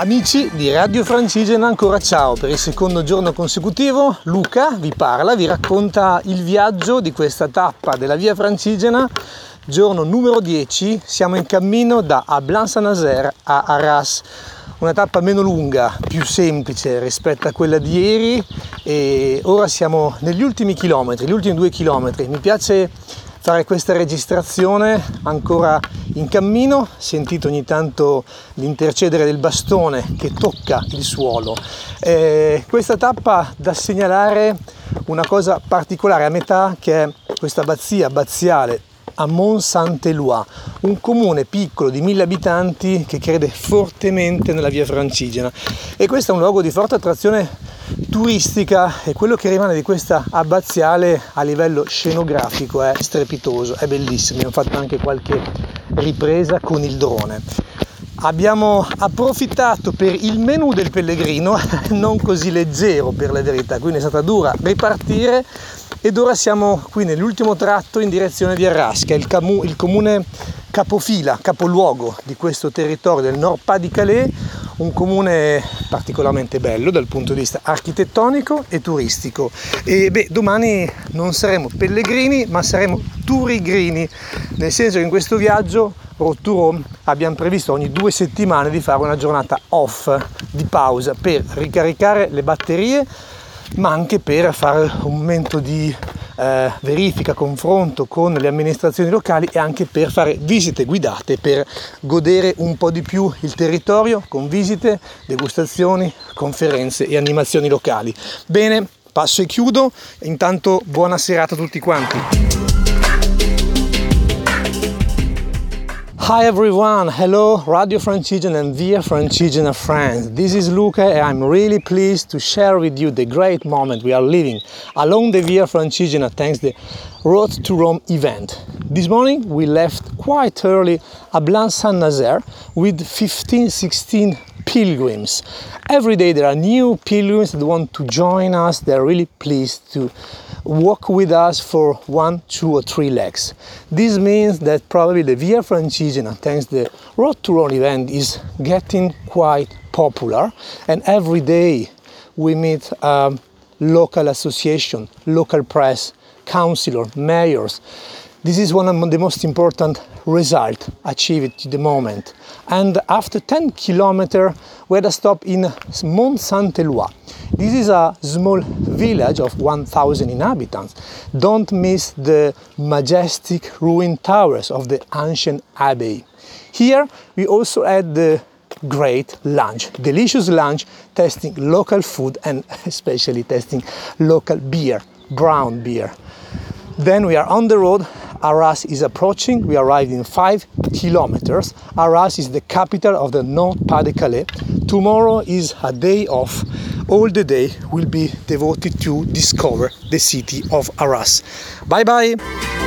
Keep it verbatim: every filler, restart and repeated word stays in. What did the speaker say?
Amici di Radio Francigena, ancora ciao. Per il secondo giorno consecutivo Luca vi parla, vi racconta il viaggio di questa tappa della Via Francigena, giorno numero dieci. Siamo in cammino da Ablain-Saint-Nazaire a Arras, una tappa meno lunga, più semplice rispetto a quella di ieri, e ora siamo negli ultimi chilometri, gli ultimi due chilometri. Mi piace fare questa registrazione ancora in cammino, sentite ogni tanto l'intercedere del bastone che tocca il suolo. Eh, questa tappa da segnalare una cosa particolare a metà, che è questa abbazia abbaziale a Mont-Saint-Éloi, un comune piccolo di mille abitanti che crede fortemente nella Via Francigena, e questo è un luogo di forte attrazione turistica, e quello che rimane di questa abbaziale a livello scenografico è strepitoso, è bellissimo. Abbiamo fatto anche qualche ripresa con il drone. Abbiamo approfittato per il menù del pellegrino, non così leggero per la verità, quindi è stata dura ripartire, ed ora siamo qui nell'ultimo tratto in direzione di Arras, che è il, camu- il comune capofila, capoluogo di questo territorio del Nord-Pas-de-Calais, un comune particolarmente bello dal punto di vista architettonico e turistico. E beh, domani non saremo pellegrini, ma saremo turigrini, nel senso che in questo viaggio Road to Rome abbiamo previsto ogni due settimane di fare una giornata off, di pausa, per ricaricare le batterie, ma anche per fare un momento di eh, verifica, confronto con le amministrazioni locali, e anche per fare visite guidate, per godere un po' di più il territorio con visite, degustazioni, conferenze e animazioni locali. Bene, passo e chiudo. Intanto buona serata a tutti quanti. Hi everyone, hello Radio Francigena and Via Francigena friends. This is Luca, and I'm really pleased to share with you the great moment we are living along the Via Francigena thanks to the Road to Rome event. This morning we left quite early Ablain-Saint-Nazaire with fifteen sixteen pilgrims. Every day there are new pilgrims that want to join us. They're really pleased to walk with us for one, two or three legs. This means that probably the Via Francigena, thanks to the Road to Rome event, is getting quite popular, and every day we meet um, local association, local press, councillor, mayors. This is one of the most important results achieved at the moment. And after ten kilometers, we had a stop in Mont-Saint-Éloi. This is a small village of one thousand inhabitants. Don't miss the majestic ruined towers of the ancient abbey. Here we also had the great lunch, delicious lunch, tasting local food and especially tasting local beer, brown beer. Then we are on the road. Arras is approaching. We arrived in five kilometers. Arras is the capital of the Nord-Pas-de-Calais. Tomorrow is a day off. All the day will be devoted to discover the city of Arras. Bye bye!